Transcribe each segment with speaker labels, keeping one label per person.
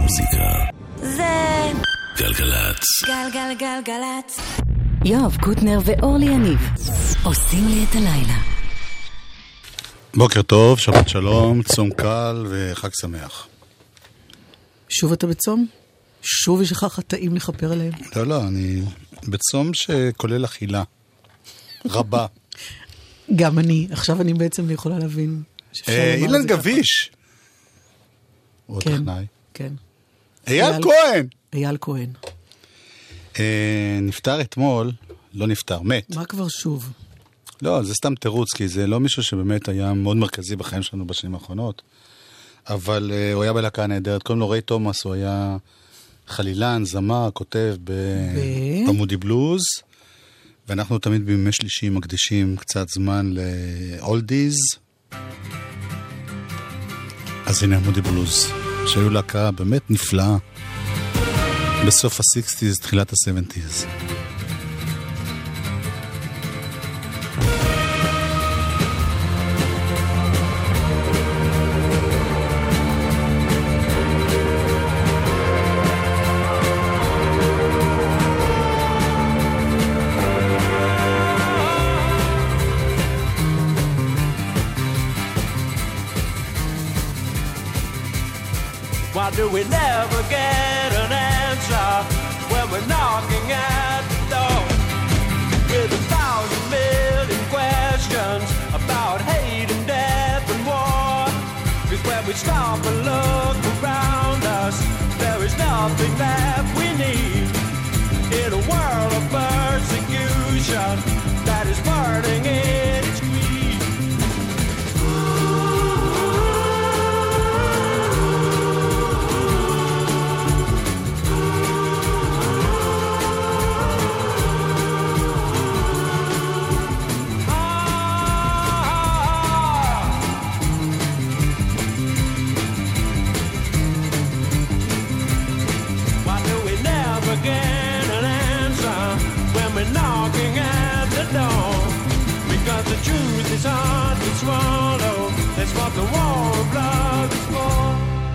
Speaker 1: המוזיקה
Speaker 2: זה
Speaker 1: גלגלצ.
Speaker 2: גלגלגלגלצ. יואב קוטנר ואורלי יניב עושים לי את הלילה.
Speaker 3: בוקר טוב, שבת שלום, צום קל וחג שמח.
Speaker 4: שוב אתה בצום? שוב יש לך חטאים לכפר עליהם?
Speaker 3: לא, אני בצום שכולל אכילה רבה.
Speaker 4: גם אני, עכשיו אני בעצם יכולה להבין.
Speaker 3: אילן גביש. הוא טכנאי.
Speaker 4: כן.
Speaker 3: אייל כהן.
Speaker 4: אייל כהן.
Speaker 3: נפטר אתמול, לא נפטר, מת.
Speaker 4: מה כבר שוב?
Speaker 3: לא, זה סתם תירוץ, כי זה לא מישהו שבאמת היה מאוד מרכזי בחיים שלנו בשנים האחרונות. אבל הוא היה בלהקה נהדרת, קוראים לו ריי תומאס, הוא היה חלילן, זמר, כותב במודי בלוז, ואנחנו תמיד בימי שלישי מקדישים קצת זמן לאולדיז. אז הנה מודי בלוז, שהיו להקה באמת נפלאה, בסוף ה-60s, תחילת ה-70s.
Speaker 5: Why do we never get an answer when we're knocking at the door with 1,000 million questions about hate and death and war? Because when we stop and look around us, there is nothing that we need in a world of persecution that is burning in its greed. Knocking at the door, because the truth is hard to swallow. That's what the war of love is for.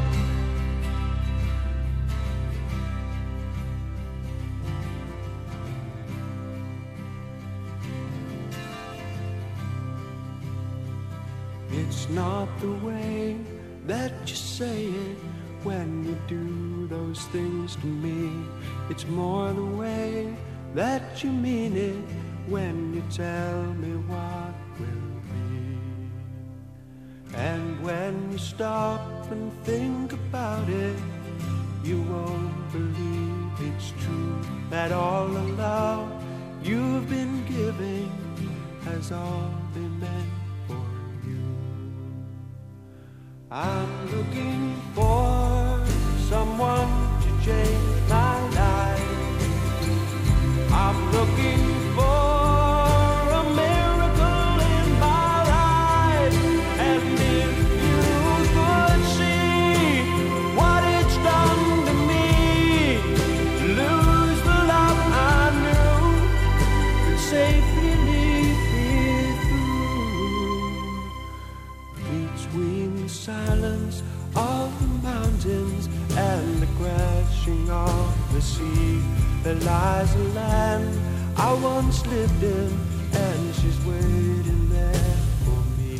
Speaker 5: It's not the way that you say it when you do those things to me. It's more the way that you mean it when you tell me what will be. And when you stop and think about it, you won't believe it's true that all the love you've been giving has all been meant for you. I'm looking for someone to change my life. I'm looking for a miracle in my life. And if you could see what it's done to me, lose the love I knew, could safely lead me through. Between the silence of the mountains and the crashing of the sea, there lies a land I once lived in, and she's waiting there for me.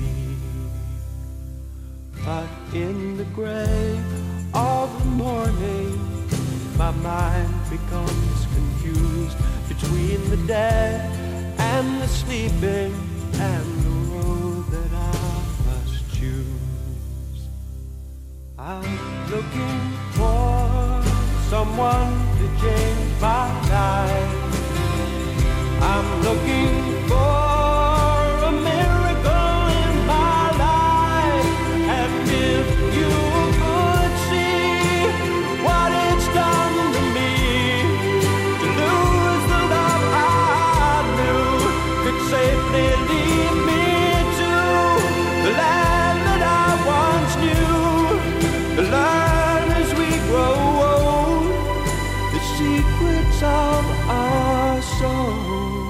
Speaker 5: But in the gray of the morning, my mind becomes confused between the dead and the sleeping, and the road that I must choose. I'm looking for someone to change my life. I'm looking for a miracle in my life. And if you could see what it's done to me, to lose the love I knew, could safely lead me to the land that I once knew, to learn as we grow old the secrets of our soul.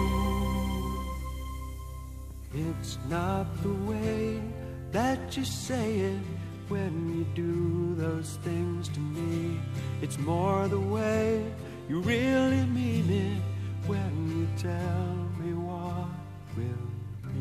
Speaker 5: It's not the way that you say it when you do those things to me. It's more the way you really mean it when you tell me what will be.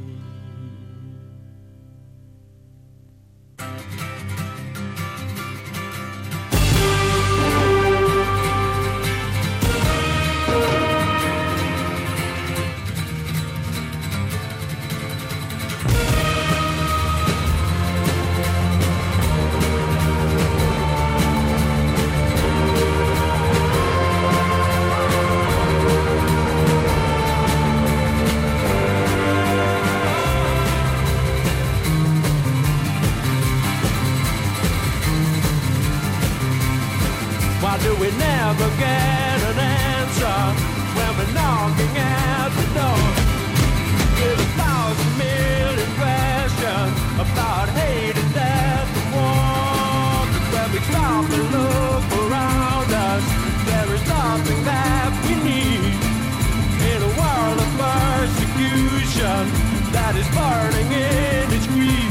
Speaker 5: Do we never get an answer when we're knocking at the door? With 1,000 million questions about hate and death and war. But when we stop and look around us, there is nothing that we need in a world of persecution that is burning in its greed.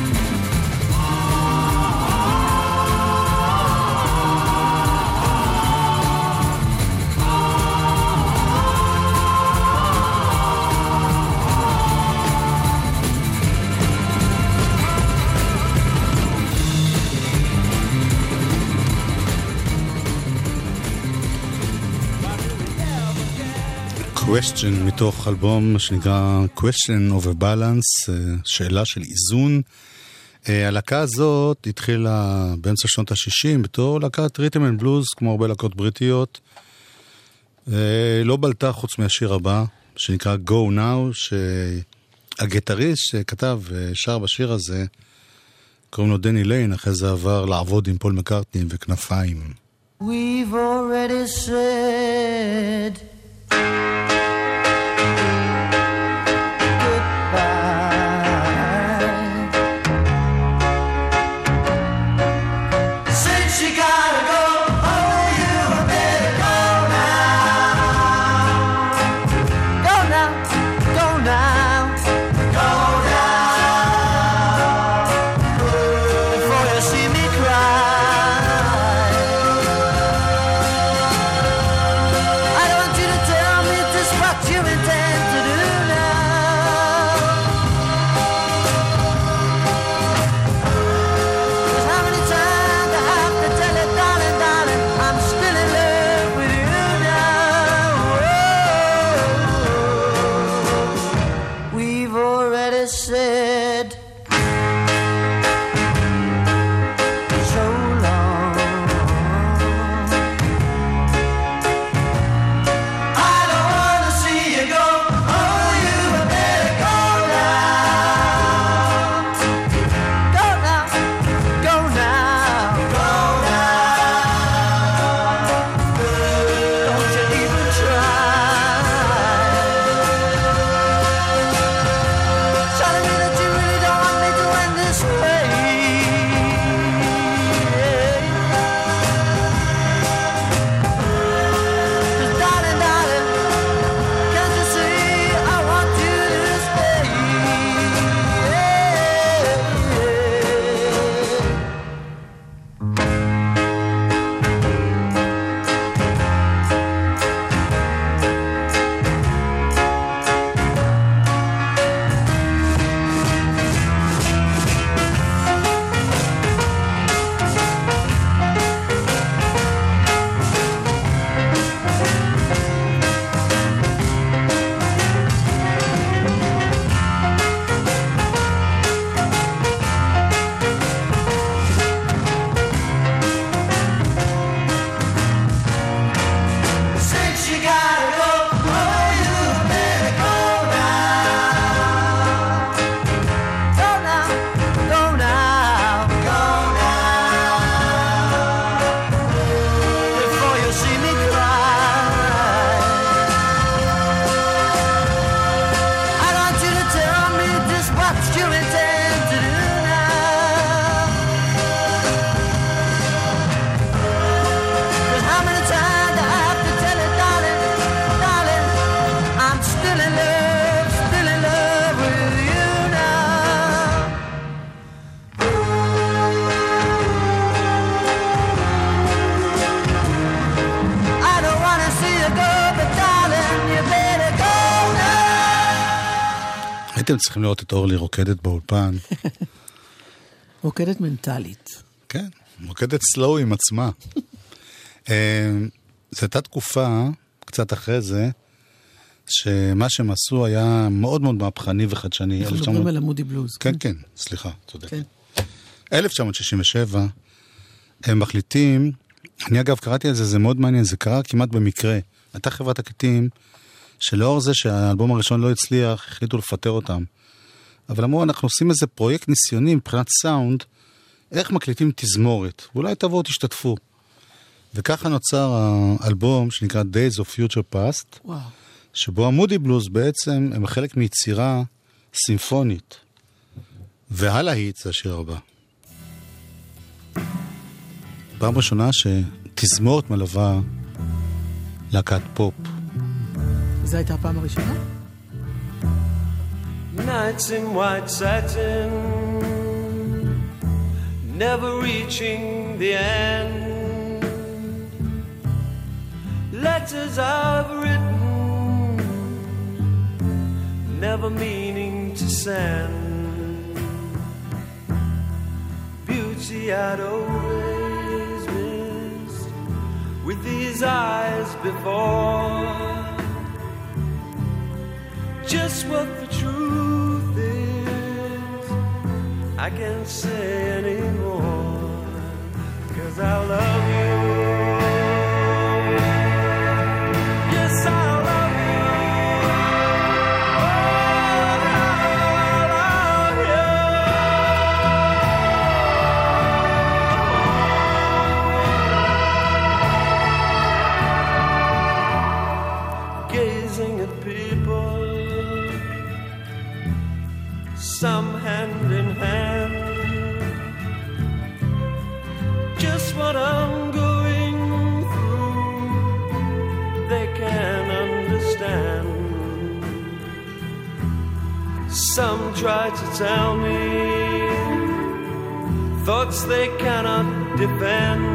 Speaker 3: Question מתוך אלבום שנקרא Question of a Balance, שאלה של איזון. הלהקה הזאת התחילה באמצע שנות ה-60 בתור להקת ריתם אנד בלוז, כמו הרבה להקות בריטיות. לא בלטה חוץ מהשיר הבא שנקרא Go Now, שהגיטריסט שכתב שר בשיר הזה קוראים לו דני ליין, אחרי זה עבר לעבוד עם פול מקרטני וכנפיים.
Speaker 1: We've already said
Speaker 6: Tell me
Speaker 3: הייתם צריכים לראות את אורלי רוקדת באולפן.
Speaker 4: רוקדת מנטלית.
Speaker 3: כן, רוקדת סלואו עם עצמה. זו הייתה תקופה, קצת אחרי זה, שמה שהם עשו היה מאוד מאוד מהפכני וחדשני.
Speaker 4: אנחנו מדברים על המודי בלוז.
Speaker 3: כן, כן, סליחה, צודק. 1967, הם מחליטים, אני אגב קראתי על זה, זה מאוד מעניין, זה קרה כמעט במקרה. הייתה חברת תקליטים, שלאור זה שהאלבום הראשון לא הצליח, החליטו לפטר אותם. אבל אמרו, אנחנו עושים איזה פרויקט ניסיוני מבחינת סאונד, איך מקליטים תזמורת, ואולי תבואו תשתתפו. וככה נוצר האלבום שנקרא Days of Future Past,
Speaker 4: וואו.
Speaker 3: שבו המודי בלוז בעצם הם חלק מיצירה סימפונית. והלהיט זה השיר הבא. פעם ראשונה שתזמורת מלווה להקת פופ.
Speaker 4: זו הייתה הפעם הראשונה?
Speaker 5: Nights in white satin, never reaching the end. Letters I've written, never meaning to send. Beauty I'd always missed with these eyes before. Just what the truth is, I can't say anymore, 'cause I love you. Yes, I love you. Oh, I love you. Gazing at people, some hand in hand, just what I'm going through, they can understand. Some try to tell me thoughts they cannot defend.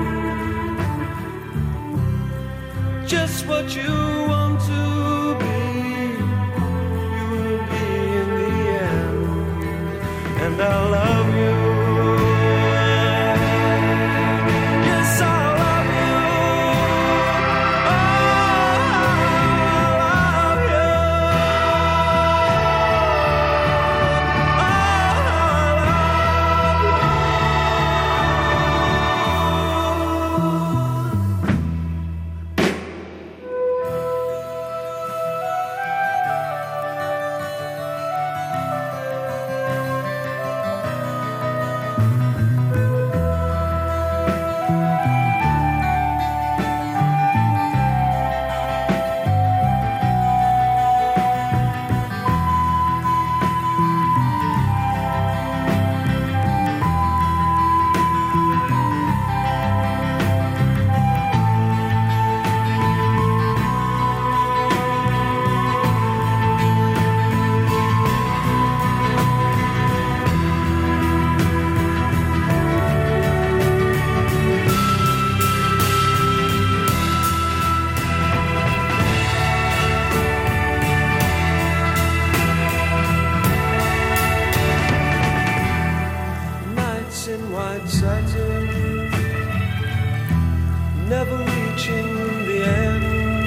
Speaker 5: Just what you want to be, you will be in the end. And I love you. Yes, I love you. Oh, I love you. Never reaching the end.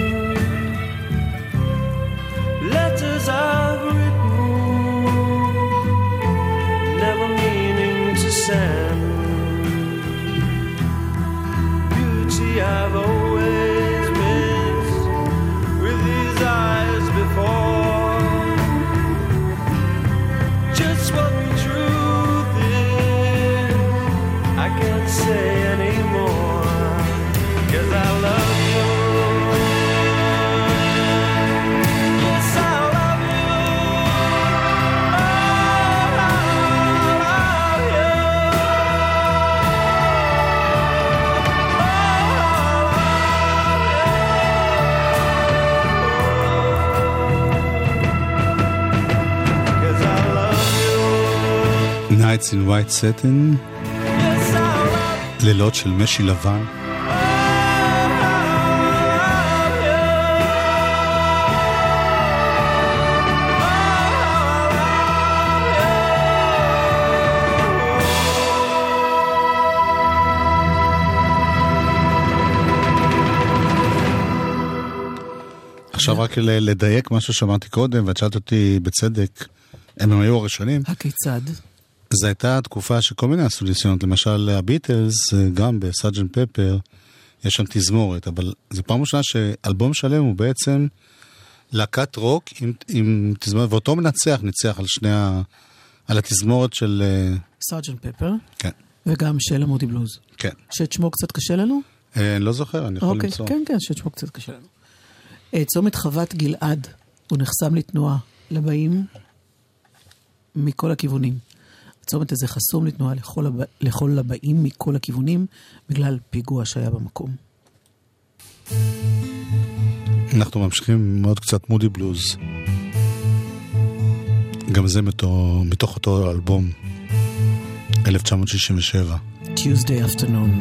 Speaker 5: Letters I've written, never meaning to send. Beauty I've always missed with these eyes before. Just what the truth is, I can't say anymore. 'Cause I love you. Yes, I love you. Oh, I love you. Oh, 'cause I love you.
Speaker 3: Nights in White Satin,
Speaker 5: Yes, I love you.
Speaker 3: לילות של משי לבן. עכשיו רק לדייק משהו שאמרתי קודם, ואת שאלת אותי בצדק, הם היו הראשונים.
Speaker 4: הכיצד?
Speaker 3: זו הייתה תקופה שכל מיני עשו ניסיונות, למשל הביטלס, גם בסארג'נט פפר, יש שם תזמורת, אבל זו פעם ראשונה שאלבום שלם הוא בעצם להקת רוק עם תזמורת, ואותו ניצח על על התזמורת של...
Speaker 4: סארג'נט פפר?
Speaker 3: כן.
Speaker 4: וגם של המודי בלוז.
Speaker 3: כן.
Speaker 4: שאת שמו קצת קשה לנו?
Speaker 3: אני לא זוכר, אני יכול למצוא.
Speaker 4: כן, שאת שמו קצת קשה לנו. צומת חוות גלעד, הוא נחסם לתנועה לבאים מכל הכיוונים. הצומת הזה חסום לתנועה לכל הבאים מכל הכיוונים, בגלל פיגוע שהיה במקום.
Speaker 3: אנחנו ממשיכים מאוד קצת מודי בלוז. גם זה מתוך אותו אלבום 1967.
Speaker 4: Tuesday afternoon.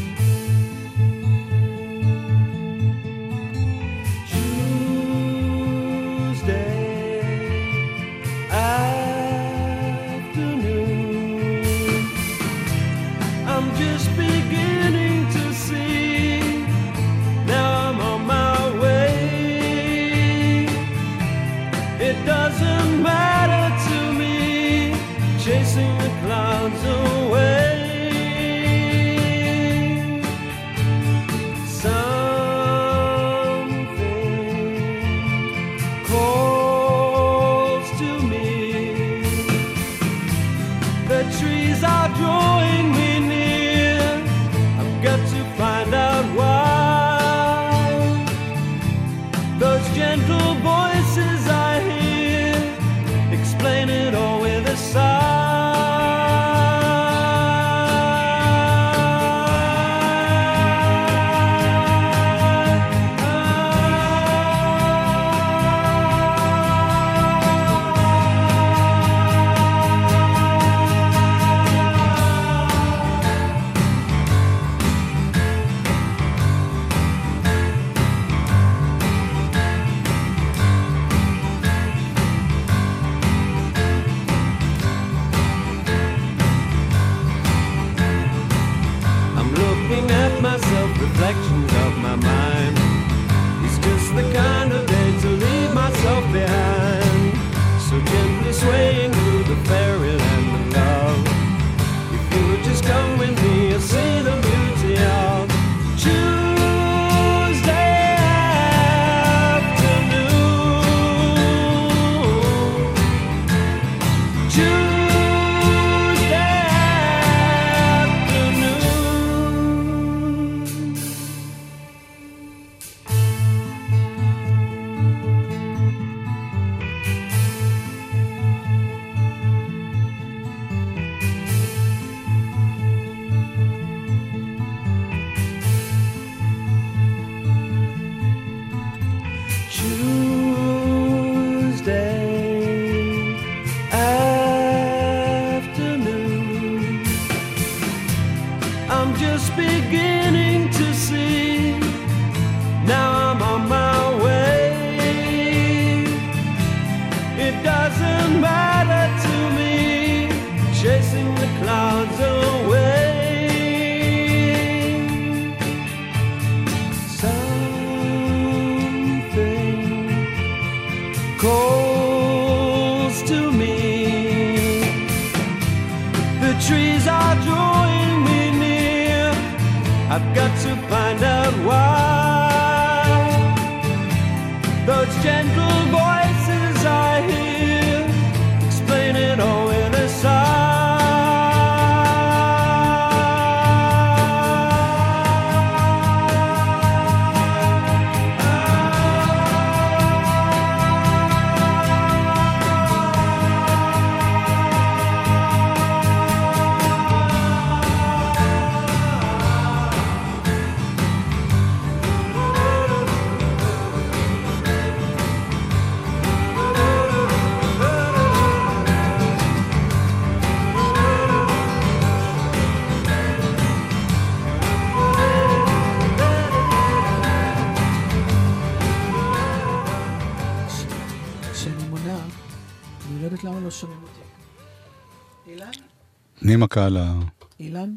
Speaker 3: קהלה.
Speaker 4: אילן,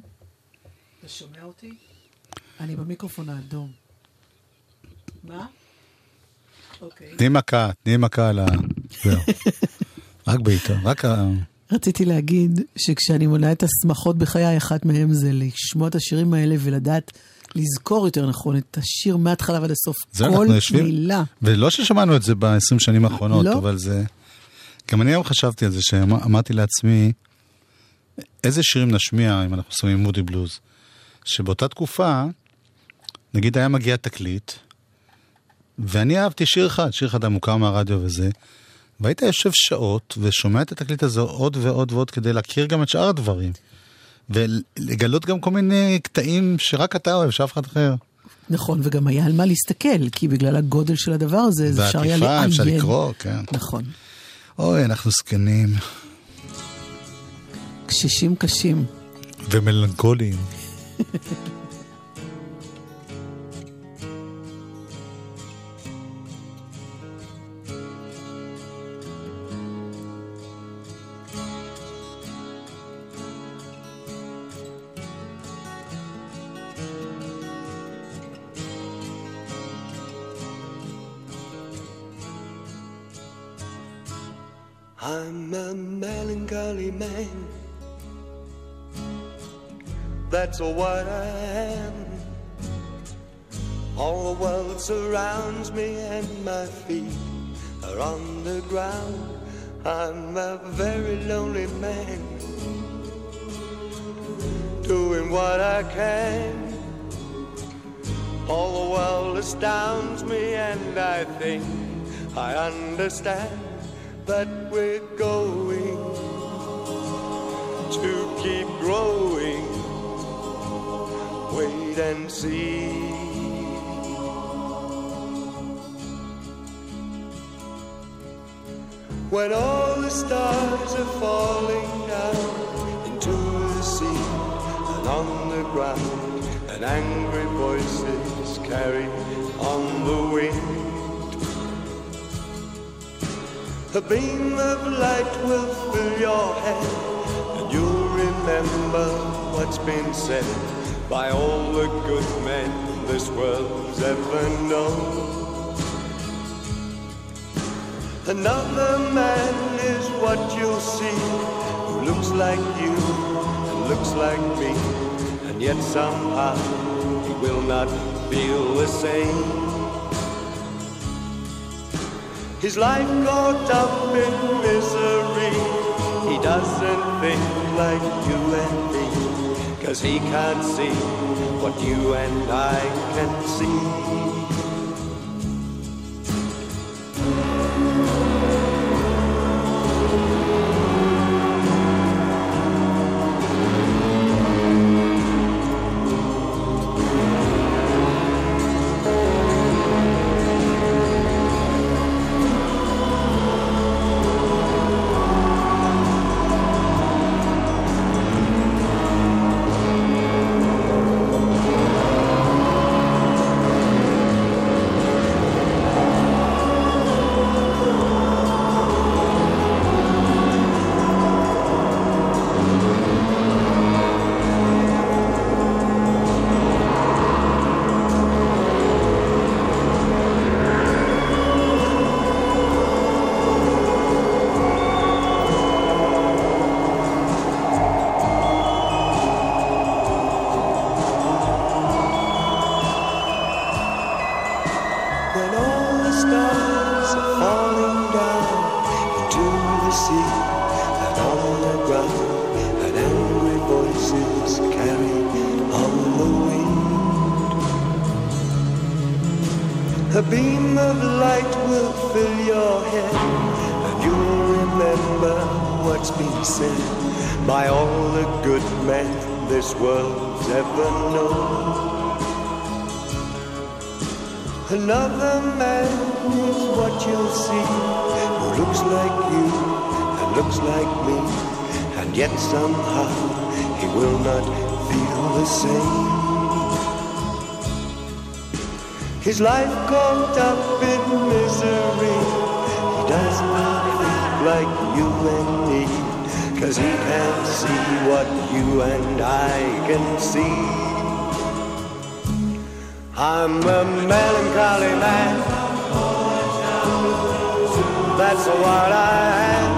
Speaker 4: אתה שומע אותי? אני במיקרופון האדום. מה?
Speaker 3: תני מכה על ה... זהו. רק בעיתו, רק ה...
Speaker 4: רציתי להגיד שכשאני מונה את השמחות בחיי, אחת מהם זה לשמוע את השירים האלה ולדעת, לזכור יותר נכון את השיר מההתחלה ועד הסוף. כל מילה.
Speaker 3: ולא ששמענו את זה ב-20 שנים האחרונות,
Speaker 4: לא.
Speaker 3: אבל זה... גם אני היום חשבתי על זה, שאמרתי לעצמי, איזה שירים נשמיע אם אנחנו שמים מודי בלוז? שבאותה תקופה, נגיד היה מגיע תקליט, ואני אהבתי שיר אחד המוכר מהרדיו וזה, והיית יושב שעות ושומע את התקליט הזה עוד ועוד ועוד כדי להכיר גם את שאר הדברים. ולגלות גם כל מיני קטעים שרק אתה אוהב, שאף אחד אחר.
Speaker 4: נכון, וגם היה על מה להסתכל, כי בגלל הגודל של הדבר הזה, זה אפשר היה לעיין.
Speaker 3: אפשר לקרוא, כן.
Speaker 4: נכון.
Speaker 3: אוי, אנחנו זקנים.
Speaker 4: קשישים קשים.
Speaker 3: ומלנכוליים.
Speaker 5: I'm a melancholy man, that's what I am. All the world surrounds me and my feet are on the ground. I'm a very lonely man, doing what I can. All the world astounds me and I think I understand. But we're going to keep growing. Wait and see. When all the stars are falling down into the sea and on the ground, and angry voices carry on the wind, a beam of light will fill your head, and you'll remember what's been said by all the good men this world's ever known. Another man is what you'll see, who looks like you and looks like me, and yet somehow he will not feel the same. His life caught up in misery. He doesn't think like you and me, 'cause he can't see what you and I can see. A beam of light will fill your head, and you'll remember what's been said by all the good men this world's ever known. Another man is what you'll see, who looks like you and looks like me, and yet somehow he will not feel the same. His life caught up in misery. He does not think like you and me, 'cause he can't see what you and I can see. I'm a melancholy man, that's what I am.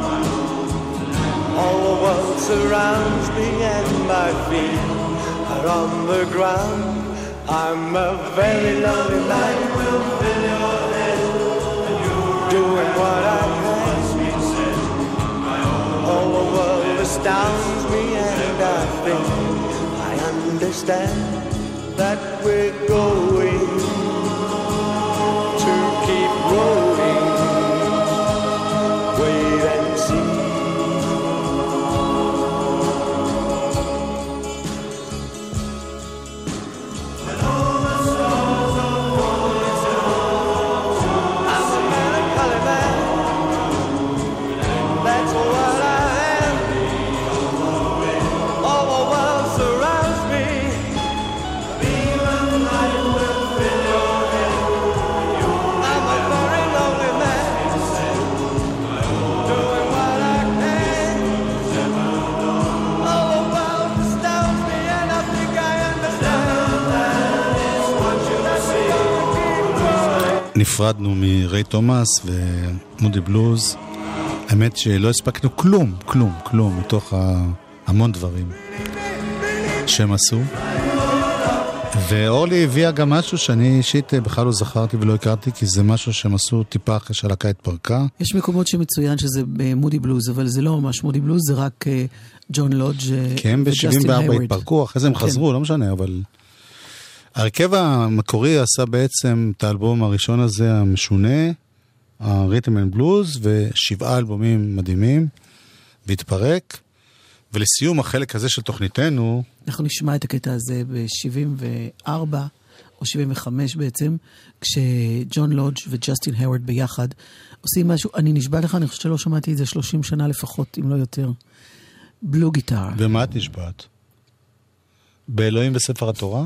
Speaker 5: All the world surrounds me and my feet are on the ground. I'm a very lonely man, doing what I can. All the world astounds me and I think I understand that we're going to keep rolling. Wait and see.
Speaker 3: נפרדנו מריי תומאס ומודי בלוז. האמת שלא הספקנו כלום מתוך המון דברים שהם עשו. ואורלי הביאה גם משהו שאני אישית בכלל לא זכרתי ולא הכרתי, כי זה משהו שהם עשו טיפה אחרי שהלהקה התפרקה.
Speaker 4: יש מקומות שמצוין שזה מודי בלוז, אבל זה לא ממש מודי בלוז, זה רק ג'ון לודג'
Speaker 3: כי הם ב-74 התפרקו, אחרי זה הם חזרו, לא משנה, אבל הרכב המקורי עשה בעצם את האלבום הראשון הזה המשונה, הריתם אנד בלוז, ו7 אלבומים מדהימים, והתפרק. ולסיום החלק הזה של תוכניתנו,
Speaker 4: אנחנו נשמע את הקטע הזה ב-74 או 75 בעצם, כשג'ון לודג' וג'סטין הווארד ביחד עושים משהו, אני נשבע לך, אני חושבת שלא שמעתי את זה 30 שנה לפחות, אם לא יותר. בלו גיטר.
Speaker 3: ומה את נשבעת? באלוהים וספר התורה?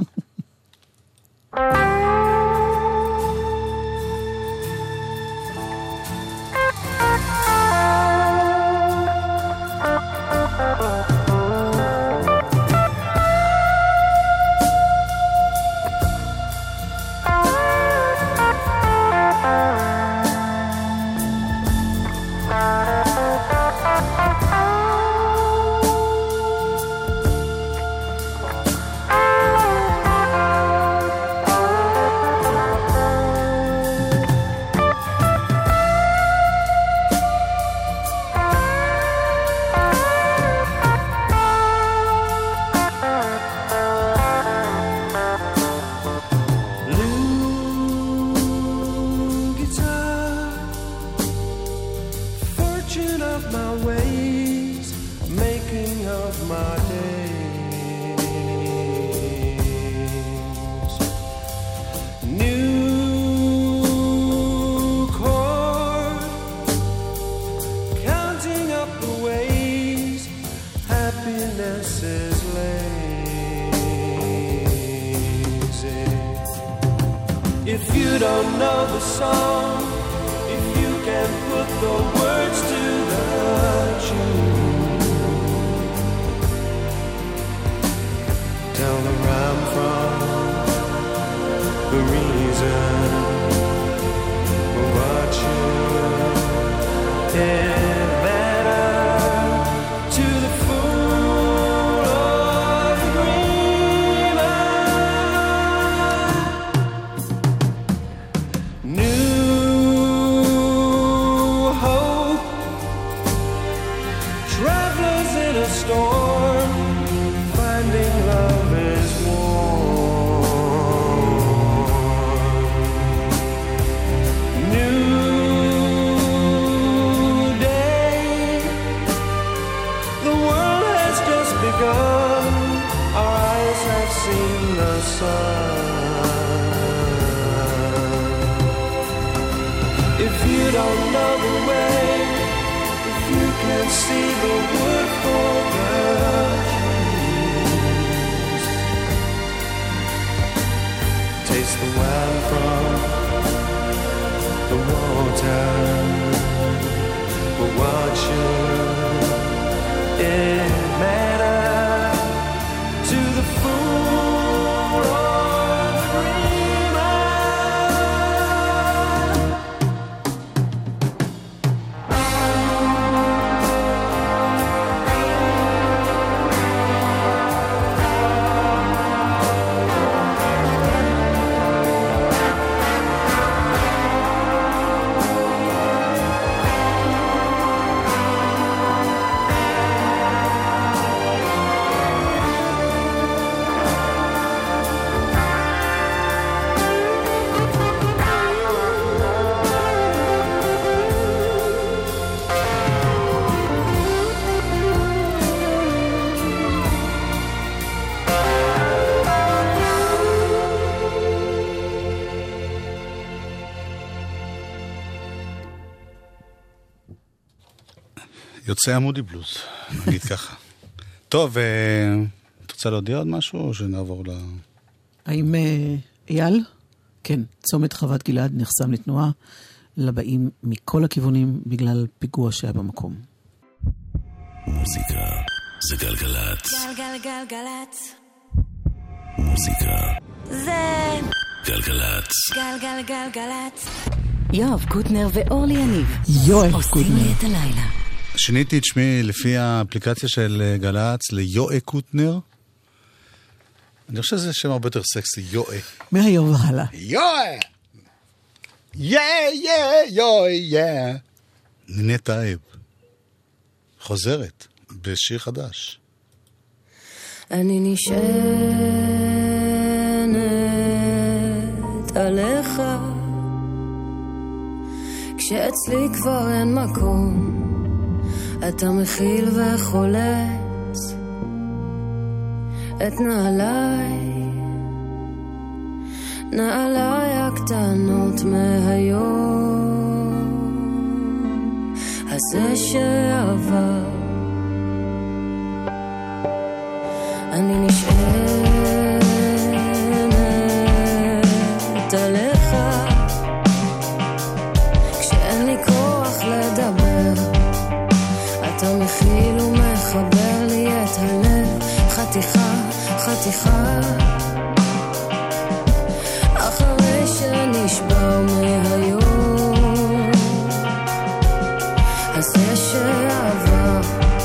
Speaker 3: יוצא המודי בלוז, נגיד ככה. טוב, את רוצה להודיע עוד משהו, או שנעבור ל...
Speaker 4: האם אייל? כן, צומת חוות גלעד נחסם לתנועה לבאים מכל הכיוונים בגלל פיגוע שהיה במקום.
Speaker 6: מוזיקה זה גלגלת.
Speaker 2: גלגלגלגלת.
Speaker 6: מוזיקה
Speaker 2: זה
Speaker 6: גלגלת.
Speaker 2: גלגלגלגלת. יואב קוטנר ואורלי יניב
Speaker 4: יואב
Speaker 2: עושים
Speaker 4: קוטנר.
Speaker 2: לי את הלילה.
Speaker 3: שיניתי את שמי לפי האפליקציה של גל"צ ליואב קוטנר. אני חושב שזה שם הרבה יותר סקסי, יואב.
Speaker 4: מהיום והלאה.
Speaker 3: יואב! יואב! נינת טייב. חוזרת בשיר חדש.
Speaker 7: אני נשענת עליך כשאצלי כבר אין מקום, אתה מכיל וחולץ את נעליי הקטנות מהיום הזה שעבר. אני נשענת עליך כשאין לי כוח לדבר, אתה מכיל ומחבר לי את הלב חתיכה חתיכה אחרי שנשבר מהיום הזה שעבר.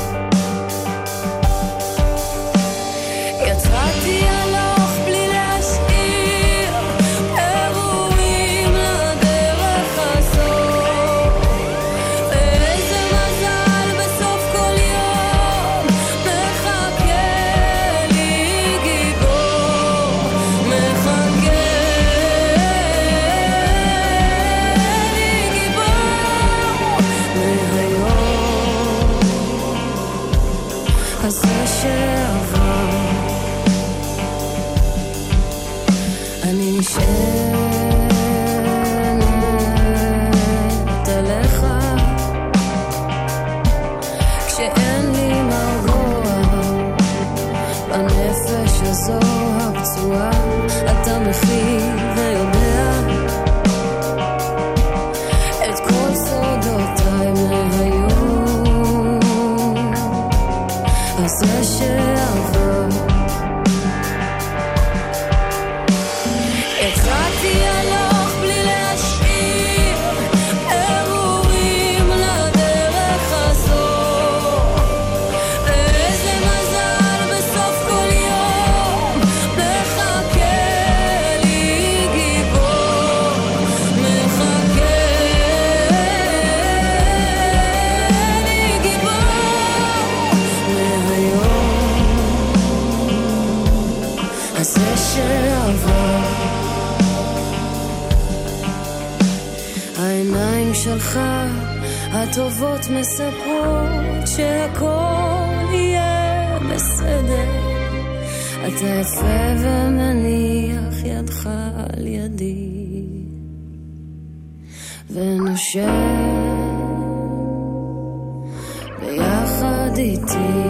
Speaker 7: יצאתי הלוך בלי להשאיר אירועים לדרך הזאת, ואיזה מזל בסוף כל יום מחכה לי גיבור, מחכה לי גיבור מהיום הזה שעבר. אני נשענת עליך כשאין לי מרגוע בנפש הזו הפצועה, אתה מכיל ויודע את כל סודותיי מהיום הזה שעבר. יצאתי הלוך בלי להשאיר אירועים לדרך הזאת, ואיזה מזל בסוף כל יום מחכה לי גיבור, מחכה לי גיבור מהיום הזה שעבר. העיניים שלך הטובות מספרות שהכל יהיה בסדר, אתה יפה ומניח ידך על ידי ונושם ביחד איתי.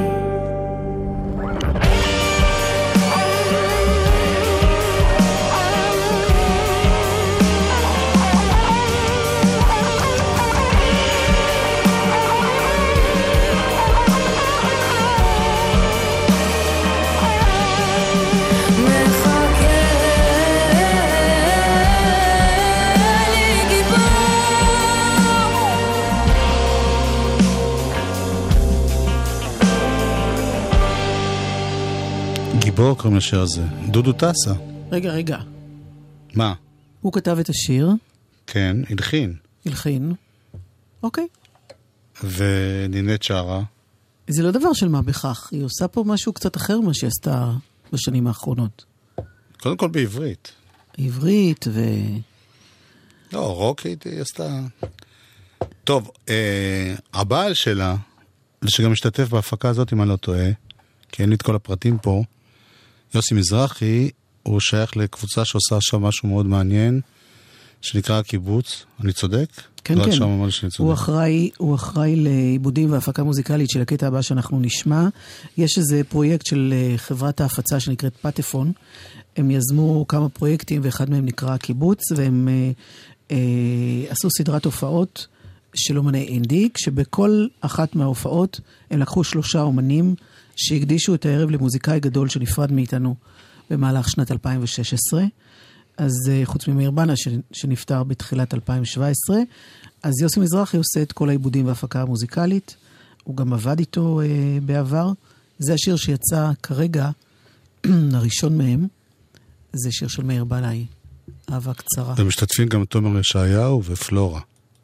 Speaker 3: גיבור קוראים לשיר הזה. דודו טסה.
Speaker 4: רגע.
Speaker 3: מה?
Speaker 4: הוא כתב את השיר.
Speaker 3: כן, הלחין.
Speaker 4: אוקיי.
Speaker 3: ונינת שרה.
Speaker 4: זה לא דבר של מה בכך. היא עושה פה משהו קצת אחר ממה שהיא עשתה בשנים האחרונות.
Speaker 3: קודם כל בעברית.
Speaker 4: עברית
Speaker 3: לא, רוקית היא עשתה. טוב, הבעל שלה, שגם משתתף בהפקה הזאת אם אני לא טועה, כי אין לי את כל הפרטים פה, יוסי מזרחי, הוא שייך לקבוצה שעושה עכשיו משהו מאוד מעניין, שנקרא הקיבוץ. אני צודק?
Speaker 4: כן,
Speaker 3: לא
Speaker 4: כן.
Speaker 3: עכשיו ממש שניצודים.
Speaker 4: הוא אחראי לעיבודים והפקה מוזיקלית של הקטע הבא שאנחנו נשמע. יש איזה פרויקט של חברת ההפצה שנקראת פטפון. הם יזמו כמה פרויקטים, ואחד מהם נקרא קיבוץ, והם עשו סדרת הופעות של אומני אינדי, שבכל אחת מההופעות הם לקחו 3 אומנים שהקדישו את הערב למוזיקאי גדול שנפרד מאיתנו במהלך שנת 2016. אז חוץ ממאיר בנה שנפטר בתחילת 2017, אז יוסי מזרחי עושה את כל העיבודים וההפקה המוזיקלית, הוא גם עבד איתו בעבר. זה השיר שיצא כרגע, הראשון מהם, זה שיר של מאיר בנאי, אהבה קצרה.
Speaker 3: ומשתתפים גם תומר ישעיהו ופלורה.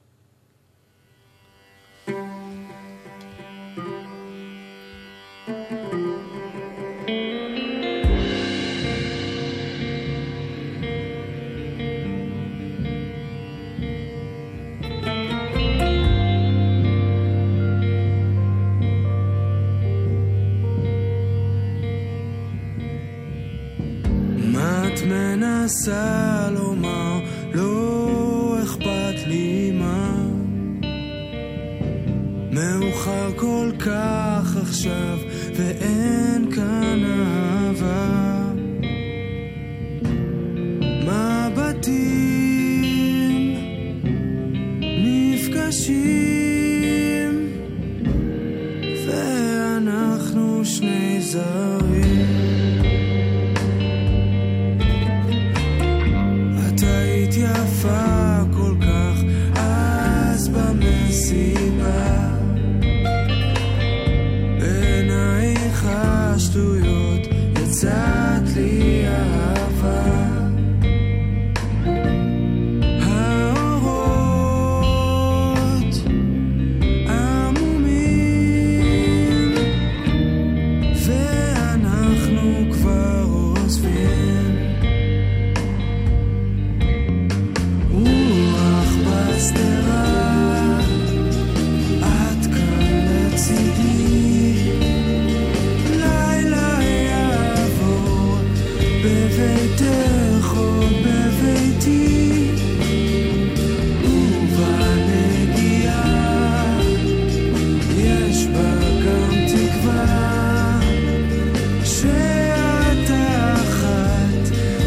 Speaker 5: מנסה לומר, לא אכפת לי מה, מאוחר כל כך עכשיו ואין כאן אהבה. מבטים נפגשים ואנחנו שני זרים. יפה כל כך אז במסיבה, בעינייך השטויות יצאת לי אהבה. האורות עמומים ואנחנו כבר עוזבים. את כאן לצידי, לילה יעבור בביתך או בביתי, ובנגיעה יש בה גם תקווה שאת אחת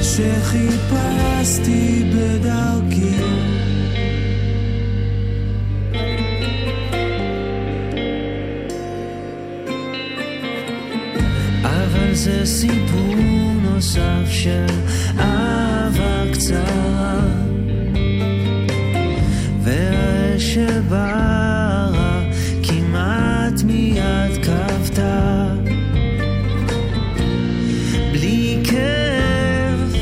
Speaker 5: שחיפשתי בדרכי. זה סיפור נוסף של אהבה קצרה, והאש שבערה כמעט מיד כבתה, בלי כאב,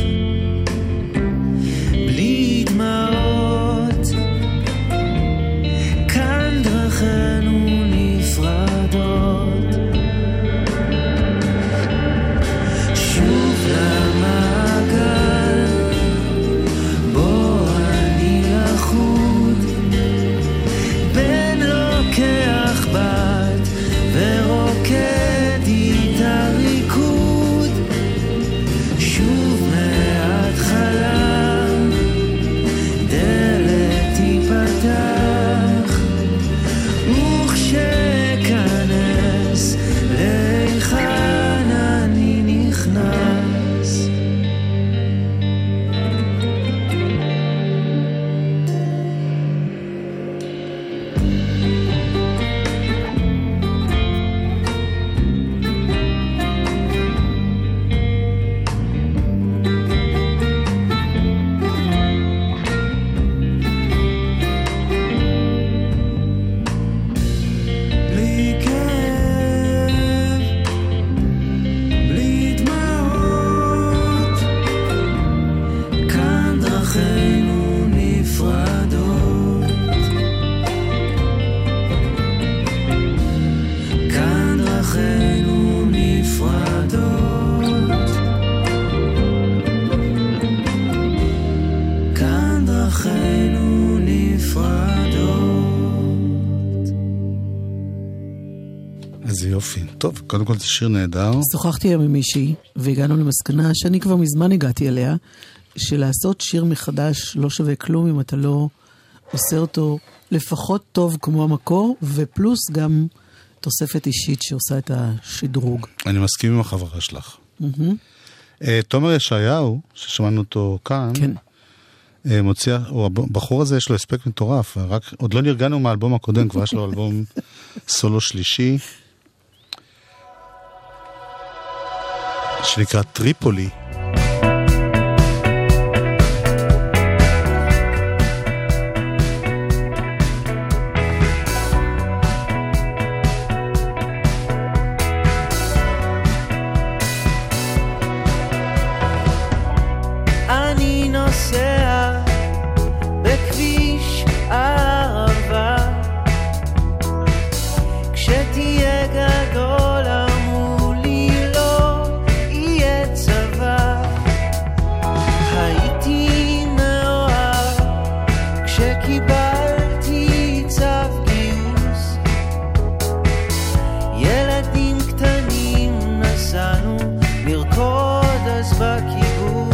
Speaker 5: בלי דמעות, כאן דרכנו נפרדות.
Speaker 3: איזה יופי. טוב, קודם כל זה שיר נהדר.
Speaker 4: שוחחתי היום עם מישהי, והגענו למסקנה שאני כבר מזמן הגעתי אליה, שלעשות שיר מחדש לא שווה כלום אם אתה לא עושה אותו לפחות טוב כמו המקור, ופלוס גם תוספת אישית שעושה את השדרוג.
Speaker 3: אני מסכים עם החברה שלך. תומר ישעיהו, ששמענו אותו כאן,
Speaker 4: כן.
Speaker 3: מוציא, הבחור הזה יש לו הספק מטורף, רק עוד לא נרגענו מהאלבום הקודם, כבר יש לו אלבום סולו שלישי, שנקרא טריפולי.
Speaker 1: אני נוסע בכביש הערבה, כשתהיה גדול אמרו לי לא יהיה צבא. הייתי מאוהב כשקיבלתי צו גיוס, ילדים קטנים נסענו לרקוד אז בקיבוץ.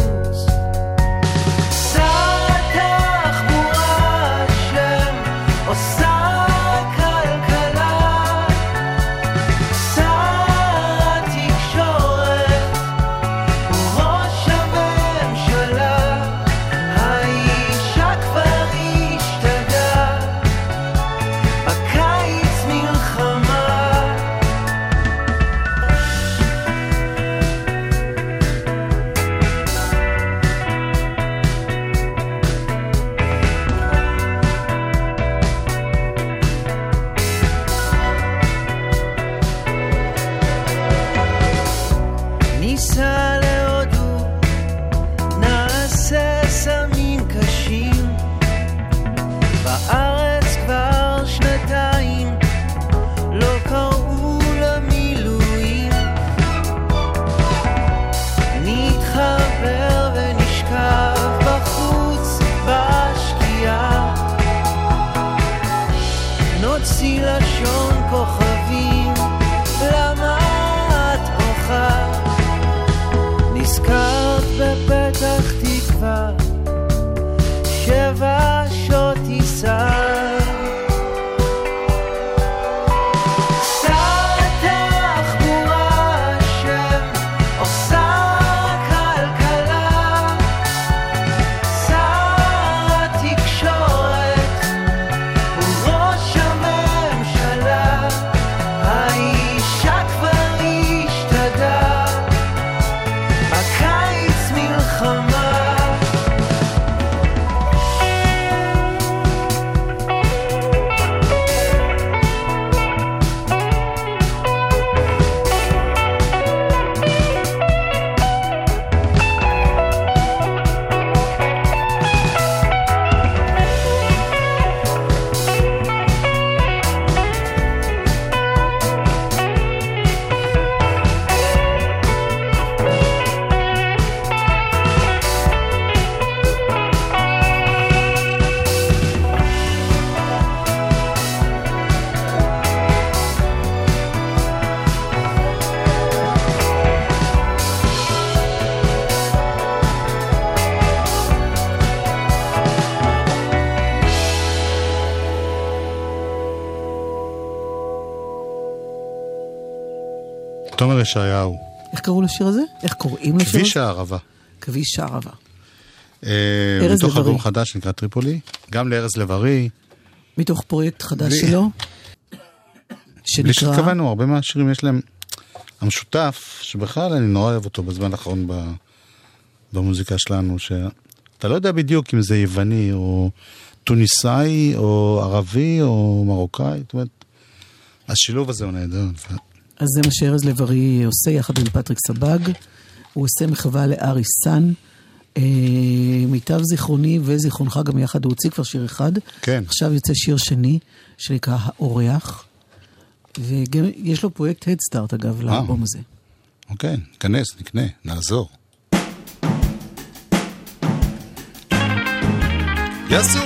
Speaker 3: תומר ישעיהו.
Speaker 4: איך קראו לשיר הזה? איך קוראים לשיר הזה?
Speaker 3: כביש הערבה.
Speaker 4: כביש הערבה.
Speaker 3: מתוך אלבום חדש שנקרא טריפולי. גם לארז לב-ארי.
Speaker 4: מתוך פרויקט חדש שלו.
Speaker 3: בלי שתכוונו, הרבה מהשירים יש להם המשותף, שבכלל אני נורא אוהב אותו בזמן האחרון במוזיקה שלנו, שאתה לא יודע בדיוק אם זה יווני או טוניסאי או ערבי או מרוקאי, זאת אומרת, השילוב הזה הוא נהדר.
Speaker 4: אז זה מה שארז לב-ארי עושה יחד עם פטריק סבג. הוא עושה מחווה לארי סן. מיטב זיכרוני וזיכרונך גם יחד, הוא הוציא כבר שיר אחד.
Speaker 3: כן.
Speaker 4: עכשיו יוצא שיר שני, שנקרא האורח. וגם יש לו פרויקט הדסטארט אגב לאלבום הזה.
Speaker 3: אוקיי, ניכנס, נקנה, נעזור. יסו!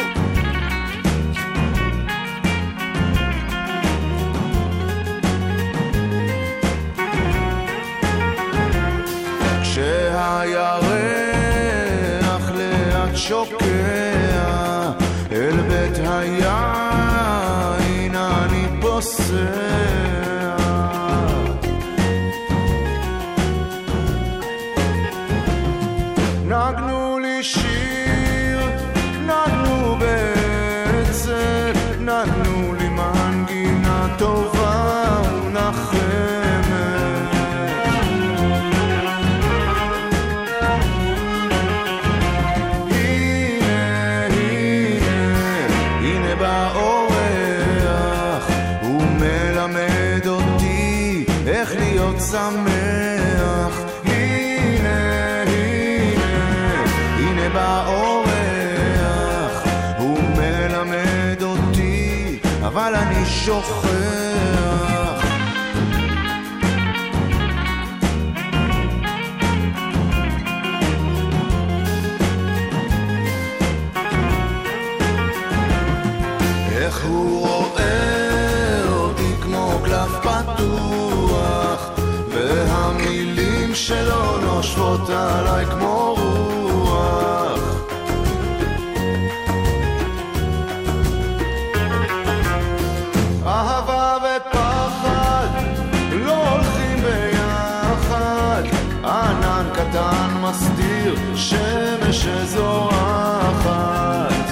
Speaker 5: כשהירח לאט שוקע אל בית
Speaker 8: לי שיר, נתנו בעצם, נתנו לי מנגינה טובה ונחמת. הנה, הנה, הנה באורח, הוא מלמד אותי איך להיות שמח. הנה, הנה, הנה באורח, הוא מלמד אותי, אבל אני שוכח. איך הוא רואה אותי כמו קלף פתוח, והמילים שלו נושבות עליי כמו רוח. אהבה ופחד לא הולכים ביחד, ענן קטן מסתיר שמש שזורחת.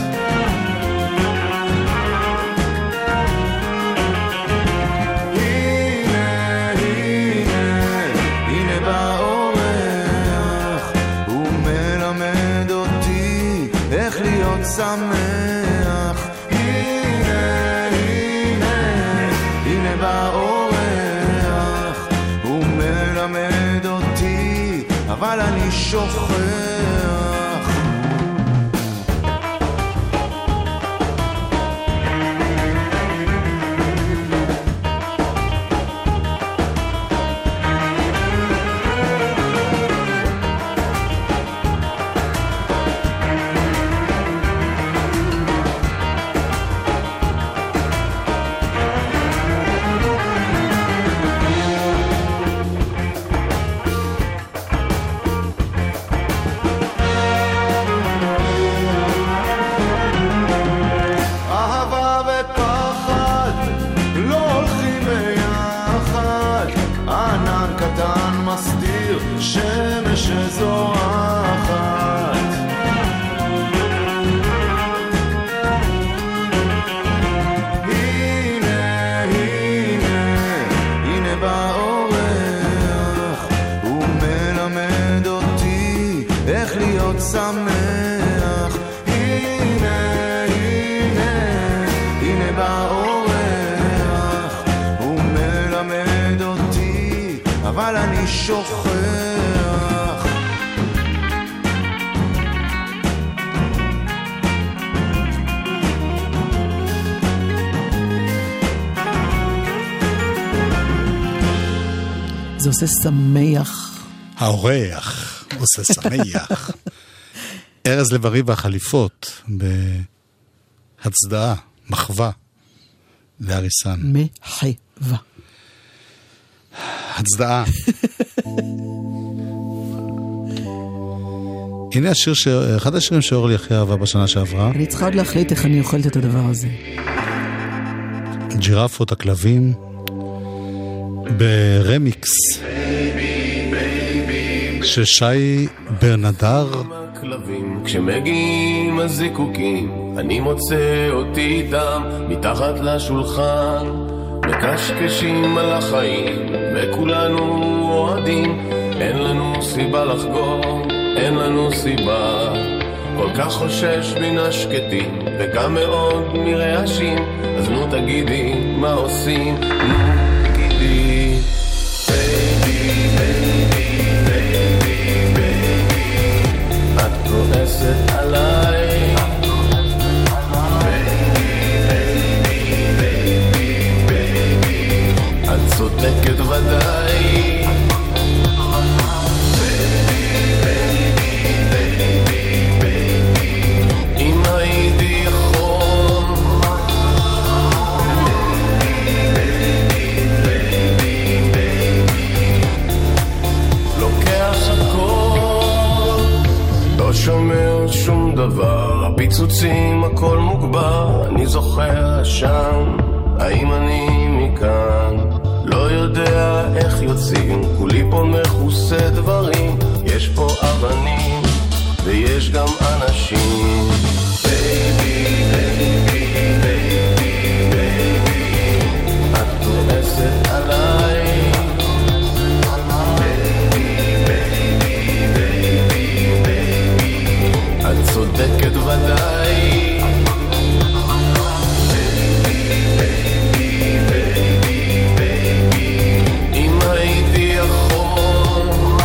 Speaker 8: שמח, הנה, הנה, הנה באורח, הוא מלמד אותי, אבל אני שוכח. שמש שזורחת. הנה, הנה, הנה באורח, הוא מלמד אותי איך להיות שמח. הנה, הנה, הנה באורח, הוא מלמד אותי, אבל אני שוכח.
Speaker 4: זה עושה שמח.
Speaker 3: האורח עושה שמח. ארז לב-ארי והחליפות בהצדעה, מחווה לאריסן.
Speaker 4: מחווה.
Speaker 3: הצדעה. הנה השיר, אחד השירים שאורלי הכי אהבה בשנה שעברה.
Speaker 4: אני צריכה עוד להחליט איך אני אוכלת את הדבר הזה.
Speaker 3: ג'ירפות הכלבים ברמיקס של שי ברנדר.
Speaker 9: כשמגיעים הזיקוקים אני מוצא אותי איתם מתחת לשולחן, מקשקשים על החיים וכולנו אוהדים. אין לנו סיבה לחגוג, אין לנו סיבה. כל כך חושש מן השקטים וגם מאוד מרעשים, אז נו תגידי מה עושים, נו תגידי. בייבי, בייבי, בייבי, בייבי, את כועסת עליי. את צודקת ודאי. אם הייתי יכול לוקח הכל, לא שומע שום דבר, הפיצוצים הכל מוגבר. אני זוכר שם, האם אני מכאן? לא יודע איך יוצאים, כולי פה מכוסה דברים, יש פה אבנים, ויש גם אנשים. בייבי, בייבי, בייבי, בייבי, את כועסת עליי. את צודקת ודאי. אם הייתי יכול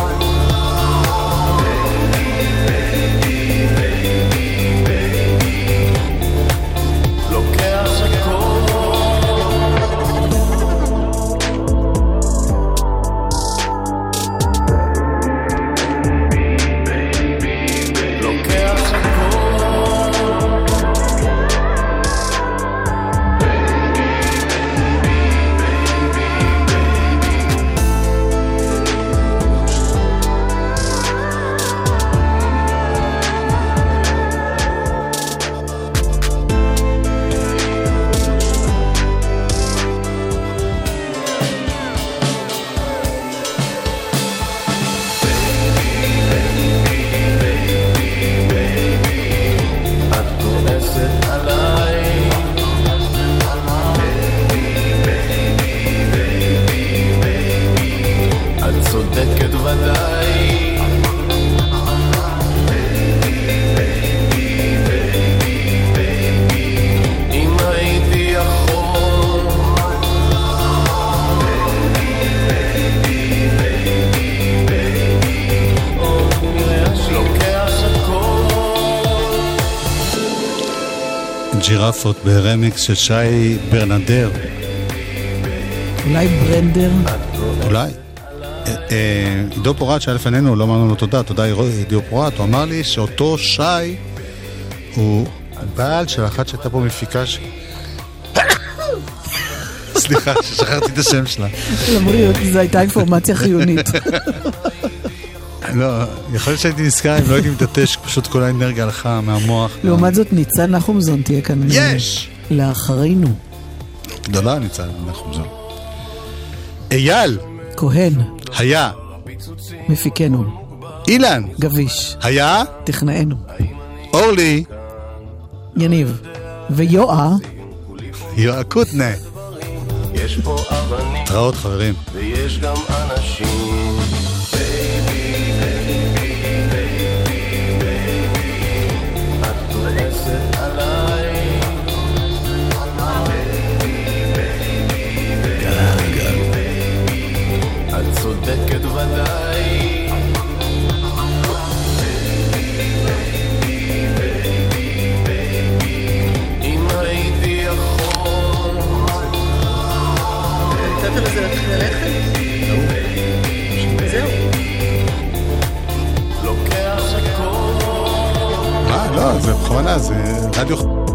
Speaker 9: לוקח
Speaker 3: ג'ירפות ברמיקס של שי ברנדר.
Speaker 4: אולי ברנדר?
Speaker 3: אולי. עידו פורט שהיה לפנינו, לא אמרנו לו תודה, תודה עידו פורט, הוא אמר לי שאותו שי הוא בעל של אחת שהייתה פה מפיקה סליחה, ששכחתי את השם שלה.
Speaker 4: למריות, זו הייתה אינפורמציה חיונית.
Speaker 3: לא, יכול להיות שהייתי נזכר, אם לא הייתי מתעטש, פשוט כל האנרגיה הלכה מהמוח.
Speaker 4: לעומת זאת, ניצן נחומזון תהיה כאן.
Speaker 3: יש!
Speaker 4: לאחרינו.
Speaker 3: גדולה ניצן נחומזון. אייל!
Speaker 4: כהן.
Speaker 3: היה.
Speaker 4: מפיקנו.
Speaker 3: אילן.
Speaker 4: גביש.
Speaker 3: היה.
Speaker 4: תכנאנו.
Speaker 3: אורלי.
Speaker 4: יניב. ויואה.
Speaker 3: יואה קוטנה.
Speaker 9: יש פה אבנים.
Speaker 3: תראות חברים.
Speaker 9: ויש גם אנשים. צודקת ודאי. אם הייתי יכול
Speaker 4: נתת לזה ללכת? זהו.
Speaker 9: לוקח הכל.
Speaker 3: לא, זה בכוונה, זה רדיו